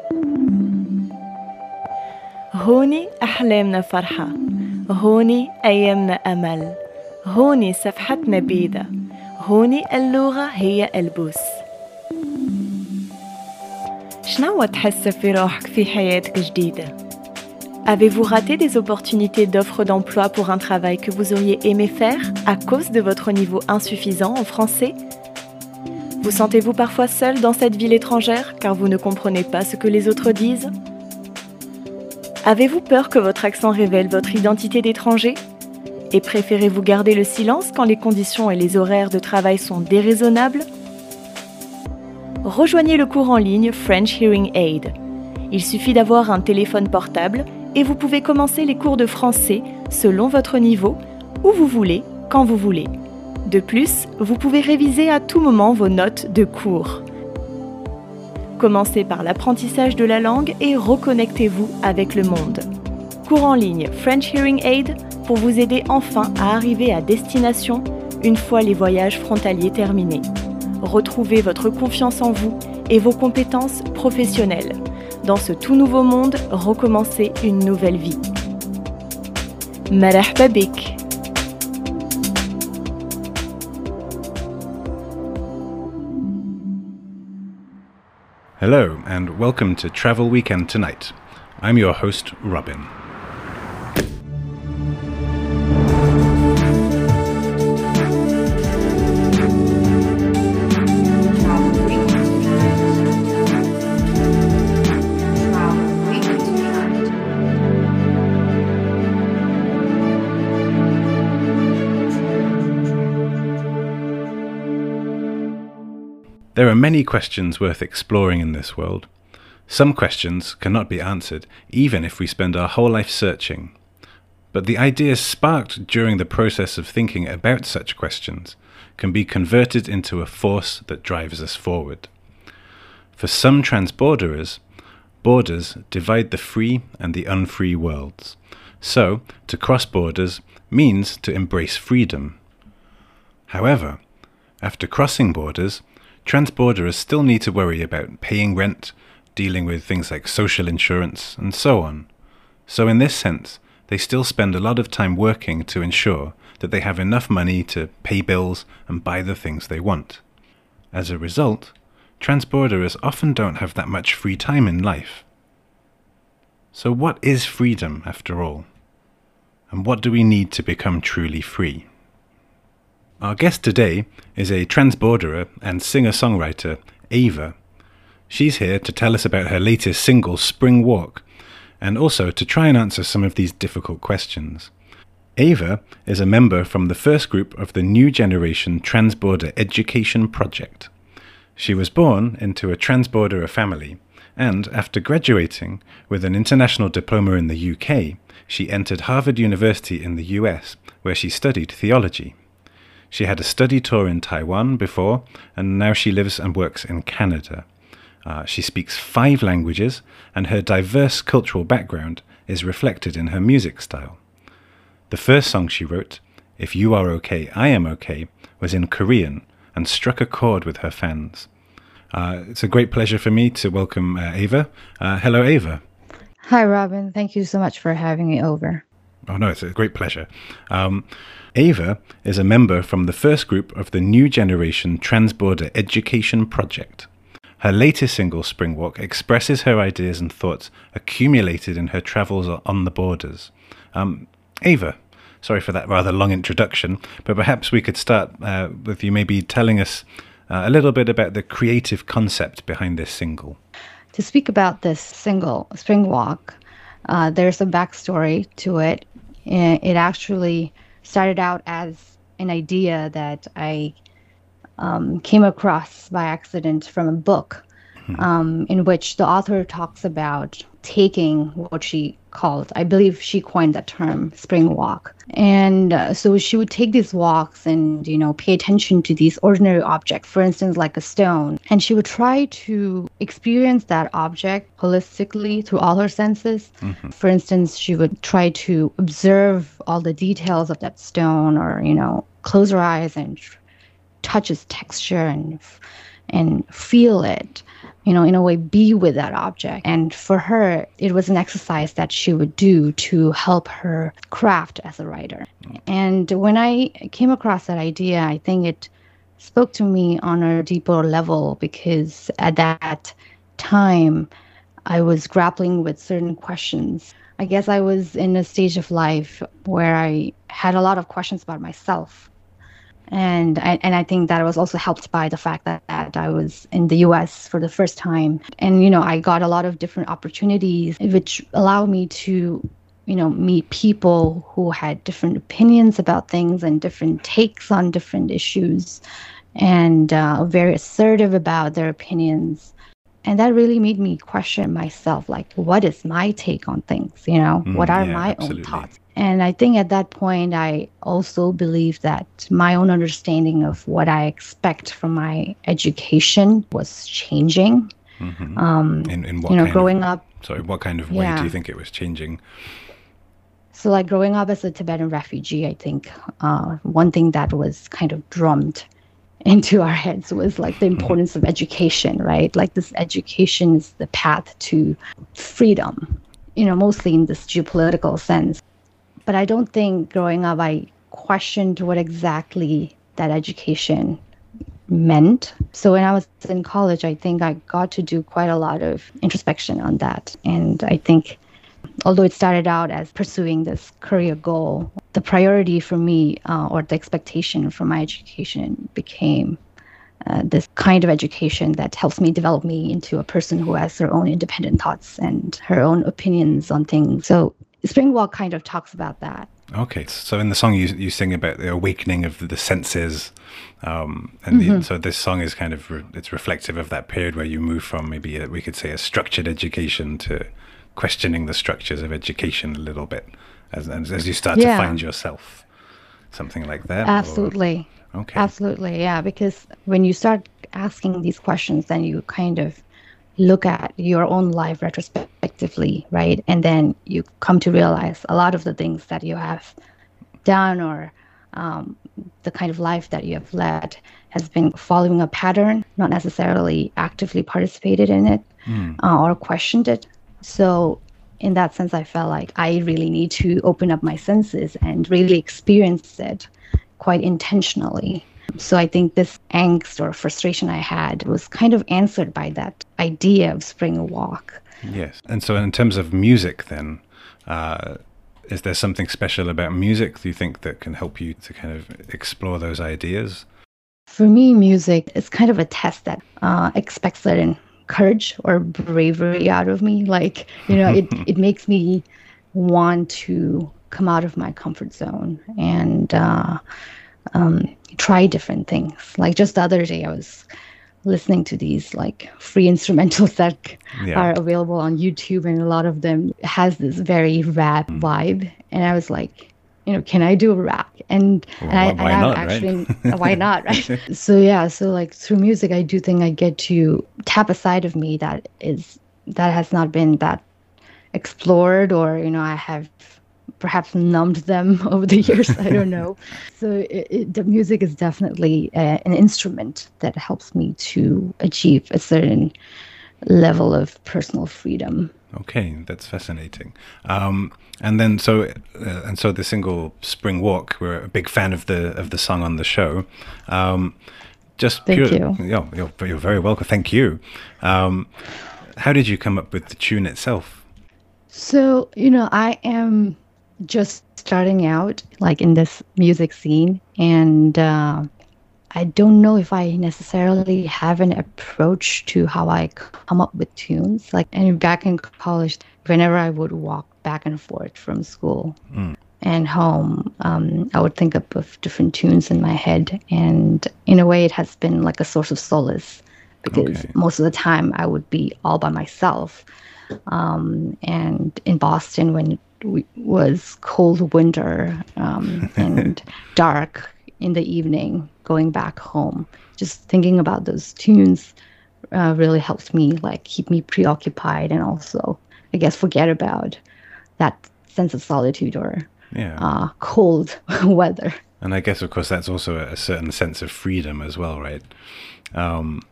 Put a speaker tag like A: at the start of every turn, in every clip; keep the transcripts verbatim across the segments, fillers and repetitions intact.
A: هوني أحلامنا فرحة، هوني أيامنا أمل، هوني صفحتنا بيضة، هوني اللغة هي البوس. شنو تحس في روحك في حياتك جديدة؟ Avez-vous raté des opportunités d'offres d'emploi pour un travail que vous auriez aimé faire à cause de votre niveau insuffisant en français? Vous sentez-vous parfois seul dans cette ville étrangère car vous ne comprenez pas ce que les autres disent? Avez-vous peur que votre accent révèle votre identité d'étranger? Et préférez-vous garder le silence quand les conditions et les horaires de travail sont déraisonnables? Rejoignez le cours en ligne French Hearing Aid. Il suffit d'avoir un téléphone portable et vous pouvez commencer les cours de français selon votre niveau, où vous voulez, quand vous voulez. De plus, vous pouvez réviser à tout moment vos notes de cours. Commencez par l'apprentissage de la langue et reconnectez-vous avec le monde. Cours en ligne French Hearing Aid pour vous aider enfin à arriver à destination une fois les voyages frontaliers terminés. Retrouvez votre confiance en vous et vos compétences professionnelles. Dans ce tout nouveau monde, recommencez une nouvelle vie. مرحبا بك.
B: Hello and welcome to Travel Weekend Tonight. I'm your host, Robin. There are many questions worth exploring in this world. Some questions cannot be answered, even if we spend our whole life searching. But the ideas sparked during the process of thinking about such questions can be converted into a force that drives us forward. For some transborderers, borders divide the free and the unfree worlds. So, to cross borders means to embrace freedom. However, after crossing borders, transborderers still need to worry about paying rent, dealing with things like social insurance, and so on. So in this sense, they still spend a lot of time working to ensure that they have enough money to pay bills and buy the things they want. As a result, transborderers often don't have that much free time in life. So what is freedom, after all? And what do we need to become truly free? Our guest today is a transborderer and singer-songwriter, Ava. She's here to tell us about her latest single, Spring Walk, and also to try and answer some of these difficult questions. Ava is a member from the first group of the New Generation Transborder Education Project. She was born into a transborderer family, and after graduating with an international diploma in the U K, she entered Harvard University in the U S, where she studied theology. She had a study tour in Taiwan before, and now she lives and works in Canada. Uh, she speaks five languages, and her diverse cultural background is reflected in her music style. The first song she wrote, If You Are Okay, I Am Okay, was in Korean and struck a chord with her fans. Uh, it's a great pleasure for me to welcome uh, Ava. Uh, hello, Ava.
C: Hi, Robin. Thank you so much for having me over.
B: Oh, no, it's a great pleasure. Um, Ava is a member from the first group of the New Generation Transborder Education Project. Her latest single, Spring Walk, expresses her ideas and thoughts accumulated in her travels on the borders. Um, Ava, sorry for that rather long introduction, but perhaps we could start uh, with you maybe telling us uh, a little bit about the creative concept behind this single.
C: To speak about this single, Spring Walk, uh, there's a backstory to it. It actually started out as an idea that I um, came across by accident from a book um, in which the author talks about taking what she called, I believe she coined that term, spring walk. And uh, so she would take these walks and, you know, pay attention to these ordinary objects, for instance, like a stone. And she would try to experience that object holistically through all her senses. Mm-hmm. For instance, she would try to observe all the details of that stone, or, you know, close her eyes and touch its texture and and feel it. you know, in a way, be with that object. And for her, it was an exercise that she would do to help her craft as a writer. And when I came across that idea, I think it spoke to me on a deeper level, because at that time, I was grappling with certain questions. I guess I was in a stage of life where I had a lot of questions about myself. And I, and I think that was also helped by the fact that, that I was in the U S for the first time. And, you know, I got a lot of different opportunities, which allowed me to, you know, meet people who had different opinions about things and different takes on different issues, and uh, very assertive about their opinions. And that really made me question myself, like, what is my take on things? You know,
B: Mm,
C: what are
B: yeah,
C: my
B: absolutely.
C: own thoughts? And I think at that point, I also believed that my own understanding of what I expect from my education was changing.
B: Mhm.
C: Um,
B: In, in what
C: you know,
B: kind
C: growing
B: of,
C: up,
B: sorry, what kind of way do
C: yeah.
B: you think it was changing?
C: So like growing up as a Tibetan refugee, I think uh, one thing that was kind of drummed into our heads was like the importance of education, right? Like this education is the path to freedom, you know, mostly in this geopolitical sense. But I don't think growing up I questioned what exactly that education meant. So when I was in college, I think I got to do quite a lot of introspection on that. And I think although it started out as pursuing this career goal, the priority for me, uh, or the expectation for my education, became uh, this kind of education that helps me develop me into a person who has her own independent thoughts and her own opinions on things. So Spring Walk kind of talks about that.
B: Okay, so in the song you you sing about the awakening of the senses, um, and
C: Mm-hmm.
B: the, so this song is kind of re, it's reflective of that period where you move from maybe a, we could say a structured education to questioning the structures of education a little bit, as as, as you start
C: Yeah.
B: to find yourself, something like that. or-
C: Absolutely.
B: okay.
C: Absolutely, yeah. Because when you start asking these questions, then you kind of look at your own life retrospectively, right? And then you come to realize a lot of the things that you have done, or um, the kind of life that you have led, has been following a pattern, not necessarily actively participated in it uh, or questioned it. So in that sense, I felt like I really need to open up my senses and really experience it quite intentionally. So I think this angst or frustration I had was kind of answered by that idea of Spring Walk.
B: Yes, and so in terms of music, then, uh, is there something special about music, do you think, that can help you to kind of explore those ideas?
C: For me, music is kind of a test that uh, expects certain courage or bravery out of me. Like, you know, it, it makes me want to come out of my comfort zone and uh, um, try different things. Like just the other day, I was listening to these like free instrumentals that
B: Yeah.
C: are available on YouTube, and a lot of them has this very rap
B: Mm.
C: vibe. And I was like, you know, can I do a rap? And,
B: Well,
C: and I,
B: why- why
C: and
B: not,
C: I
B: right?
C: actually, why not, right? So yeah, so like through music, I do think I get to tap a side of me that is that has not been that explored, or you know, I have perhaps numbed them over the years. I don't know. So it, it, the music is definitely uh, an instrument that helps me to achieve a certain level of personal freedom.
B: Okay, that's fascinating. Um, and then so uh, and so the single Spring Walk, we're a big fan of the of the song on the show. Um, just
C: Thank
B: pure,
C: you.
B: Yeah, you're, you're very welcome. Thank you. Um, how did you come up with the tune itself?
C: So, you know, I am just starting out like in this music scene, and uh, I don't know if I necessarily have an approach to how I come up with tunes. Like, and back in college, whenever I would walk back and forth from school
B: Mm.
C: and home, um, I would think up of different tunes in my head. And in a way, it has been like a source of solace, because
B: Okay.
C: most of the time I would be all by myself. Um, and in Boston, when it w- was cold winter um, and dark in the evening, going back home, just thinking about those tunes uh, really helps me like keep me preoccupied, and also, I guess, forget about that sense of solitude or
B: Yeah.
C: uh, cold weather.
B: And I guess, of course, that's also a, a certain sense of freedom as well, right? Um,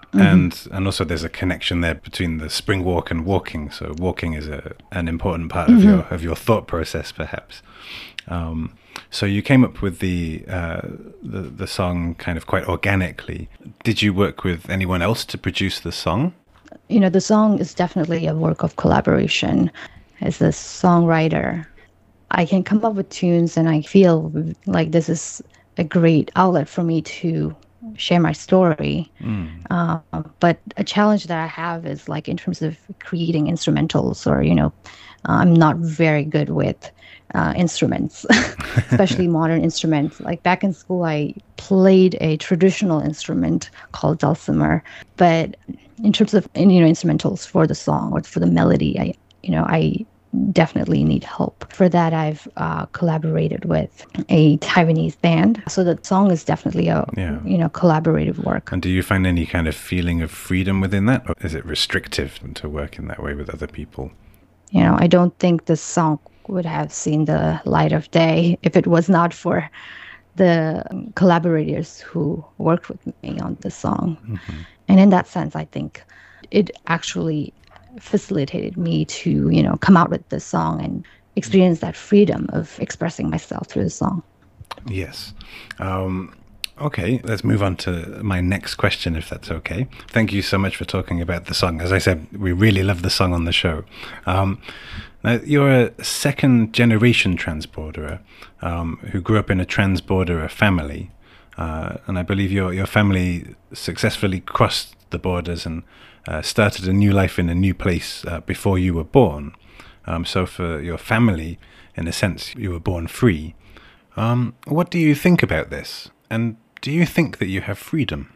B: Mm-hmm. And and also there's a connection there between the spring walk and walking. So walking is a an important part mm-hmm. of your of your thought process, perhaps. Um, so you came up with the, uh, the the song kind of quite organically. Did you work with anyone else to produce the song?
C: You know, the song is definitely a work of collaboration. As a songwriter, I can come up with tunes, and I feel like this is a great outlet for me to share my story. Mm. Uh, but a challenge that I have is like in terms of creating instrumentals, or, you know, uh, I'm not very good with uh, instruments, especially modern instruments. Like back in school, I played a traditional instrument called dulcimer. But in terms of, you know, instrumentals for the song or for the melody, I, you know, I definitely need help. For that, I've uh, collaborated with a Taiwanese band. So the song is definitely a, yeah. you know, collaborative work.
B: And do you find any kind of feeling of freedom within that? Or is it restrictive to work in that way with other people?
C: You know, I don't think this song would have seen the light of day if it was not for the collaborators who worked with me on this song. Mm-hmm. And in that sense, I think it actually facilitated me to, you know, come out with this song and experience that freedom of expressing myself through the song.
B: Yes. Um, okay, let's move on to my next question, if that's okay. Thank you so much for talking about the song. As I said, we really love the song on the show. Um, now, you're a second-generation transborderer um, who grew up in a transborderer family. Uh, and I believe your your family successfully crossed the borders and uh, started a new life in a new place uh, before you were born. Um, so for your family, in a sense, you were born free. Um, what do you think about this? And do you think that you have freedom?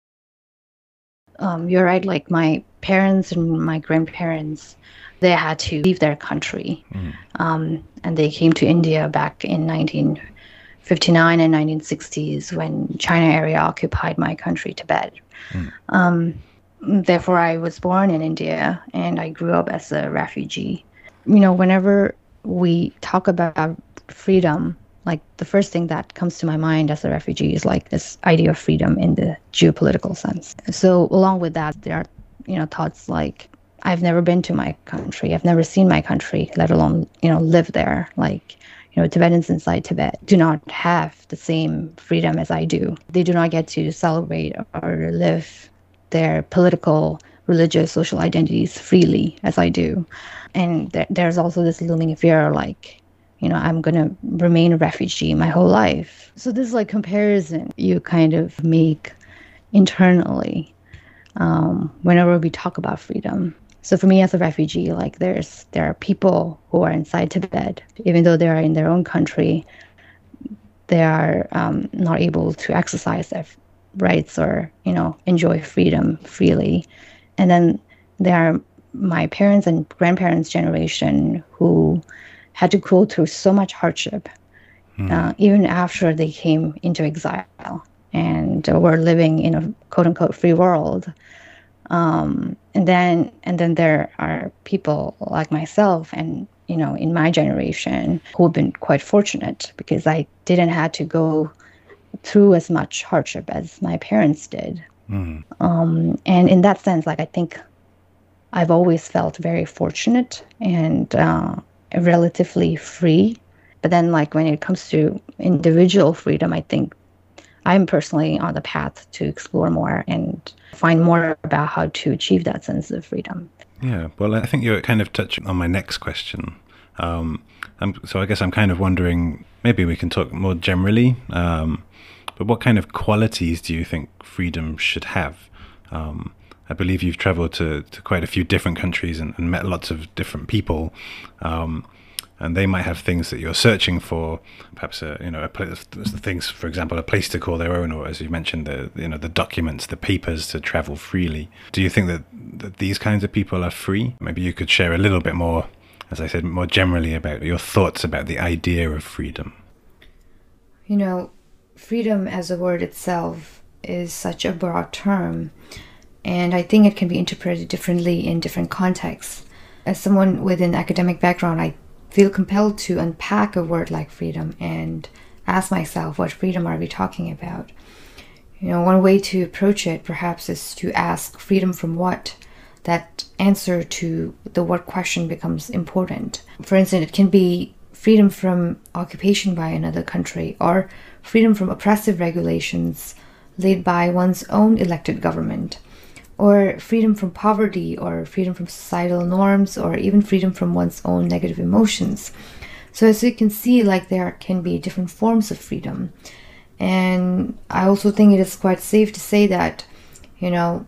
C: Um, you're right. Like my parents and my grandparents, they had to leave their country. Mm. Um, and they came to India back in nineteen fifty-nine and nineteen sixties when China area occupied my country, Tibet. Mm. Um, therefore, I was born in India and I grew up as a refugee. You know, whenever we talk about freedom, like the first thing that comes to my mind as a refugee is like this idea of freedom in the geopolitical sense. So along with that, there are, you know, thoughts like, I've never been to my country. I've never seen my country, let alone, you know, live there. Like, you know, Tibetans inside Tibet do not have the same freedom as I do. They do not get to celebrate or live their political, religious, social identities freely as I do. And th- there's also this looming fear, like, you know, I'm going to remain a refugee my whole life. So this like comparison you kind of make internally um, whenever we talk about freedom. So for me as a refugee, like there's there are people who are inside Tibet, even though they are in their own country, they are um, not able to exercise their rights or, you know, enjoy freedom freely. And then there are my parents and grandparents' generation who had to go through so much hardship, mm. uh, even after they came into exile and were living in a quote unquote free world. Um, and then and then there are people like myself and, you know, in my generation who have been quite fortunate because I didn't have to go through as much hardship as my parents did. Mm. Um, and in that sense, like I think I've always felt very fortunate and uh, relatively free. But then like when it comes to individual freedom, I think I'm personally on the path to explore more and find more about how to achieve that sense of freedom.
B: Yeah, well, I think you're kind of touching on my next question. Um, I'm, so I guess I'm kind of wondering, maybe we can talk more generally, um, but what kind of qualities do you think freedom should have? Um, I believe you've traveled to, to quite a few different countries and, and met lots of different people. Um, and they might have things that you're searching for, perhaps a, you know, a place, things, for example, a place to call their own, or as you mentioned, the you know the documents, the papers to travel freely. Do you think that, that these kinds of people are free? Maybe you could share a little bit more, as I said, more generally about your thoughts about the idea of freedom.
D: You know, freedom as a word itself is such a broad term, and I think it can be interpreted differently in different contexts. As someone with an academic background, I feel compelled to unpack a word like freedom and ask myself, what freedom are we talking about? You know, one way to approach it perhaps is to ask freedom from what? That answer to the what question becomes important. For instance, it can be freedom from occupation by another country, or freedom from oppressive regulations laid by one's own elected government, or freedom from poverty, or freedom from societal norms, or even freedom from one's own negative emotions. So as you can see, like, there can be different forms of freedom. And I also think it is quite safe to say that, you know,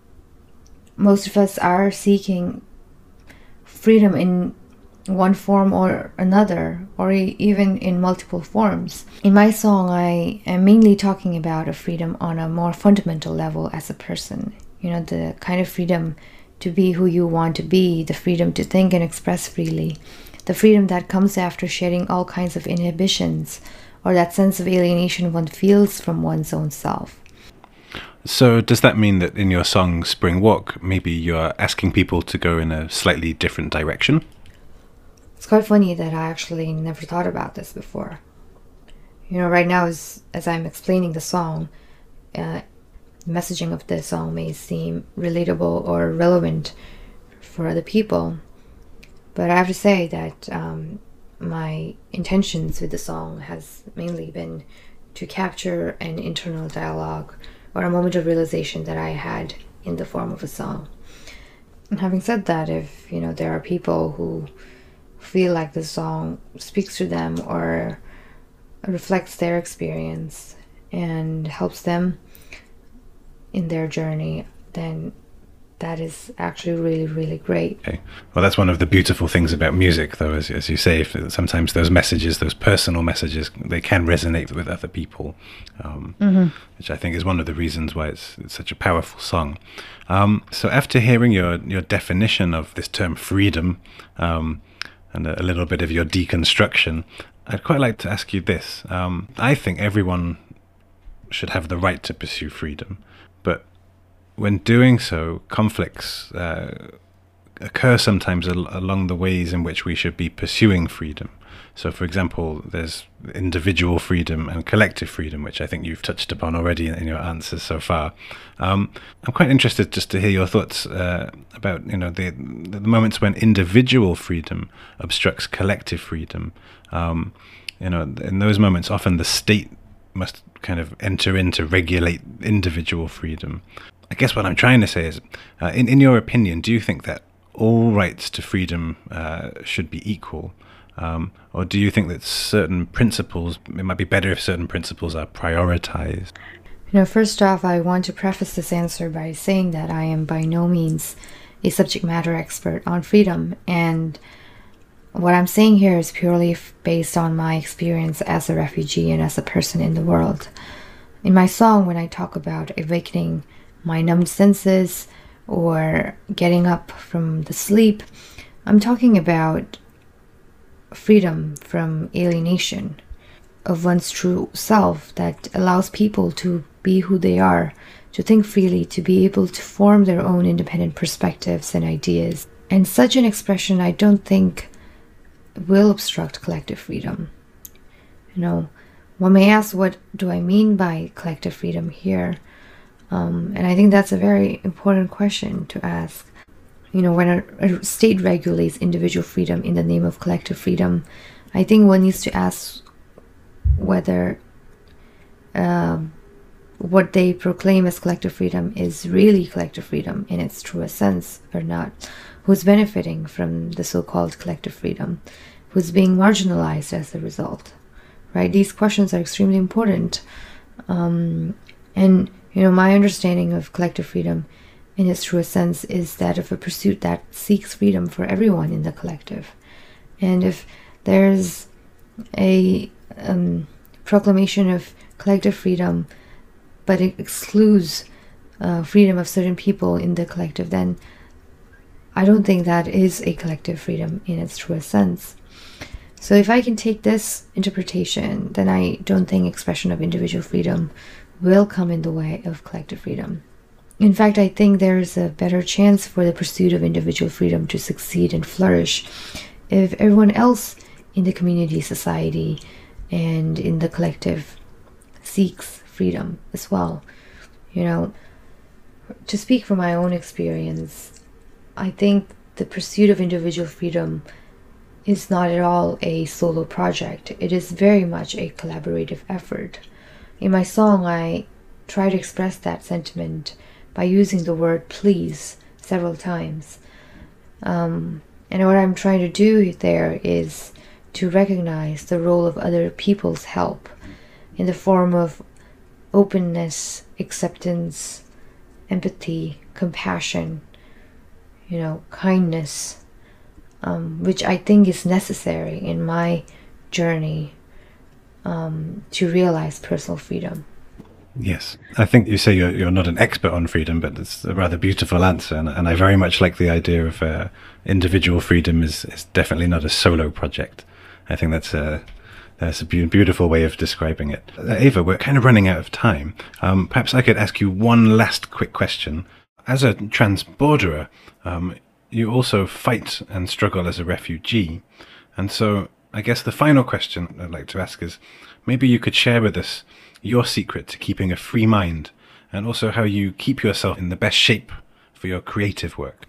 D: most of us are seeking freedom in one form or another, or e- even in multiple forms. In my song, I am mainly talking about a freedom on a more fundamental level as a person. You know, the kind of freedom to be who you want to be, the freedom to think and express freely, the freedom that comes after shedding all kinds of inhibitions, or that sense of alienation one feels from one's own self.
B: So does that mean that in your song Spring Walk, maybe you're asking people to go in a slightly different direction?
D: It's quite funny that I actually never thought about this before. You know, right now, as, as I'm explaining the song, uh, the messaging of the song may seem relatable or relevant for other people. But I have to say that um, my intentions with the song has mainly been to capture an internal dialogue or a moment of realization that I had in the form of a song. And having said that, if, you know, there are people who feel like the song speaks to them or reflects their experience and helps them in their journey, then that is actually really, really great.
B: Okay. Well, that's one of the beautiful things about music, though, as, as you say, if sometimes those messages, those personal messages, they can resonate with other people, um, mm-hmm. which I think is one of the reasons why it's, it's such a powerful song. Um, so after hearing your, your definition of this term freedom, um, and a, a little bit of your deconstruction, I'd quite like to ask you this. Um, I think everyone should have the right to pursue freedom, but when doing so, conflicts uh, occur sometimes al- along the ways in which we should be pursuing freedom. So, for example, there's individual freedom and collective freedom, which I think you've touched upon already in, in your answers so far. Um, I'm quite interested just to hear your thoughts uh, about, you know, the, the moments when individual freedom obstructs collective freedom. Um, you know, in those moments, often the state must kind of enter in to regulate individual freedom. I guess what I'm trying to say is, uh, in, in your opinion, do you think that all rights to freedom uh, should be equal? Um, or do you think that certain principles, it might be better if certain principles are prioritized?
D: You know, first off, I want to preface this answer by saying that I am by no means a subject matter expert on freedom, and what I'm saying here is purely f- based on my experience as a refugee and as a person in the world. In my song, when I talk about awakening my numbed senses or getting up from the sleep, I'm talking about freedom from alienation of one's true self that allows people to be who they are, to think freely, to be able to form their own independent perspectives and ideas. And such an expression, I don't think, will obstruct collective freedom. You know, one may ask, what do I mean by collective freedom here? Um, and I think that's a very important question to ask. You know, when a, a state regulates individual freedom in the name of collective freedom, I think one needs to ask whether uh, what they proclaim as collective freedom is really collective freedom in its truest sense or not. Who's benefiting from the so-called collective freedom? Who's being marginalized as a result? Right? These questions are extremely important. Um, and, you know, my understanding of collective freedom in its truest sense is that of a pursuit that seeks freedom for everyone in the collective. And if there's a um, proclamation of collective freedom, but it excludes uh, freedom of certain people in the collective, then I don't think that is a collective freedom in its truest sense. So if I can take this interpretation, then I don't think expression of individual freedom will come in the way of collective freedom. In fact, I think there is a better chance for the pursuit of individual freedom to succeed and flourish if everyone else in the community, society, and in the collective seeks freedom as well. You know, to speak from my own experience, I think the pursuit of individual freedom is not at all a solo project. It is very much a collaborative effort. In my song, I try to express that sentiment by using the word please several times. Um, and what I'm trying to do there is to recognize the role of other people's help in the form of openness, acceptance, empathy, compassion, you know, kindness, um, which I think is necessary in my journey um, to realize personal freedom.
B: Yes, I think you say you're you're not an expert on freedom, but it's a rather beautiful answer, and, and I very much like the idea of uh, individual freedom is, is definitely not a solo project. I think that's a that's a be- beautiful way of describing it. Uh, Ava, we're kind of running out of time. Um, perhaps I could ask you one last quick question. As a transborderer, um, you also fight and struggle as a refugee, and so I guess the final question I'd like to ask is, maybe you could share with us your secret to keeping a free mind, and also how you keep yourself in the best shape for your creative work.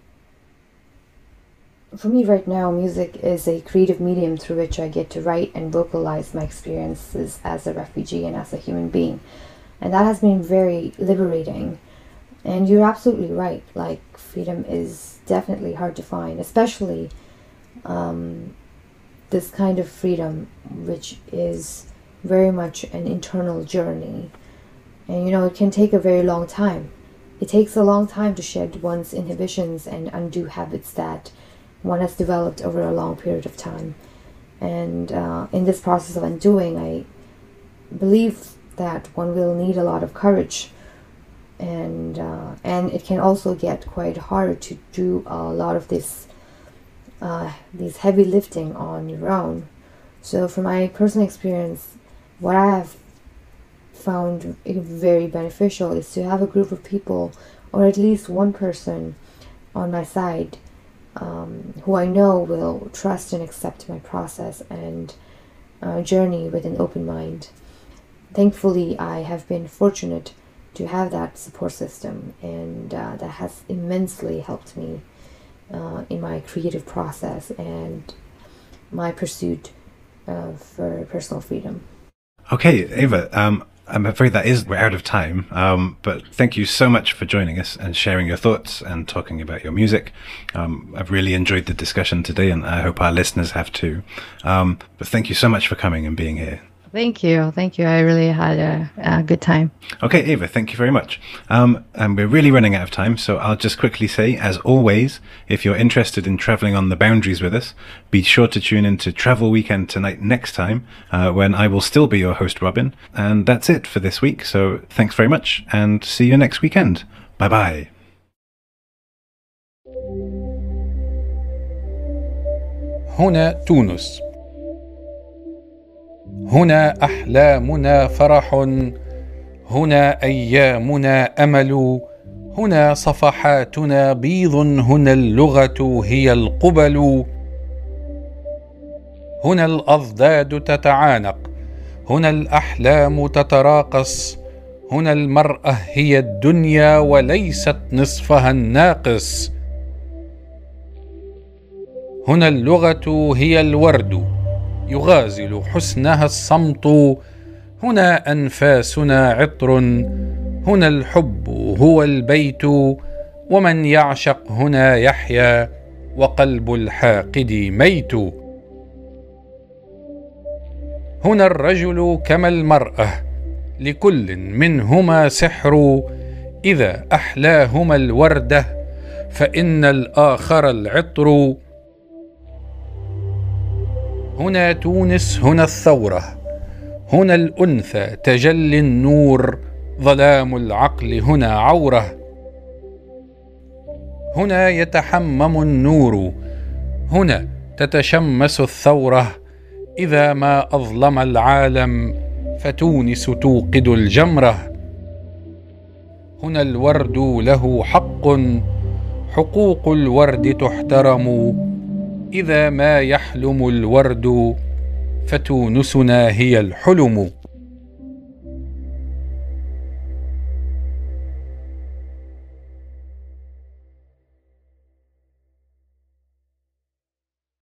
D: For me right now, music is a creative medium through which I get to write and vocalize my experiences as a refugee and as a human being. And that has been very liberating. And you're absolutely right, like freedom is definitely hard to find, especially um, this kind of freedom, which is very much an internal journey. And you know, it can take a very long time. It takes a long time to shed one's inhibitions and undo habits that one has developed over a long period of time. And uh, in this process of undoing, I believe that one will need a lot of courage, and uh, and it can also get quite hard to do a lot of this uh, these heavy lifting on your own. So from my personal experience, what I have found very beneficial is to have a group of people, or at least one person on my side, um, who I know will trust and accept my process and uh, journey with an open mind. Thankfully, I have been fortunate to have that support system, and uh, that has immensely helped me uh, in my creative process and my pursuit uh, for personal freedom.
B: Okay, Ava, um, I'm afraid that is, we're out of time, um, but thank you so much for joining us and sharing your thoughts and talking about your music. Um, I've really enjoyed the discussion today, and I hope our listeners have too. Um, but thank you so much for coming and being here.
C: Thank you. Thank you. I really had a, a good time.
B: Okay, Ava, thank you very much. Um, and we're really running out of time, so I'll just quickly say, as always, if you're interested in traveling on the boundaries with us, be sure to tune in to Travel Weekend Tonight next time, uh, when I will still be your host, Robin. And that's it for this week, so thanks very much, and see you next weekend. Bye-bye.
E: هنا تونس. هنا أحلامنا فرح، هنا أيامنا أمل، هنا صفحاتنا بيض، هنا اللغة هي القبل، هنا الأضداد تتعانق، هنا الأحلام تتراقص، هنا المرأة هي الدنيا وليست نصفها الناقص، هنا اللغة هي الورد يغازل حسنها الصمت، هنا أنفاسنا عطر، هنا الحب هو البيت، ومن يعشق هنا يحيا، وقلب الحاقد ميت، هنا الرجل كما المرأة لكل منهما سحر، إذا أحلاهما الوردة فإن الآخر العطر، هنا تونس هنا الثورة، هنا الأنثى تجلي النور، ظلام العقل هنا عورة، هنا يتحمم النور، هنا تتشمس الثورة، إذا ما أظلم العالم فتونس توقد الجمرة، هنا الورد له حق، حقوق الورد تحترم، إذا ما يحلم الورد فتونسنا هي الحلم.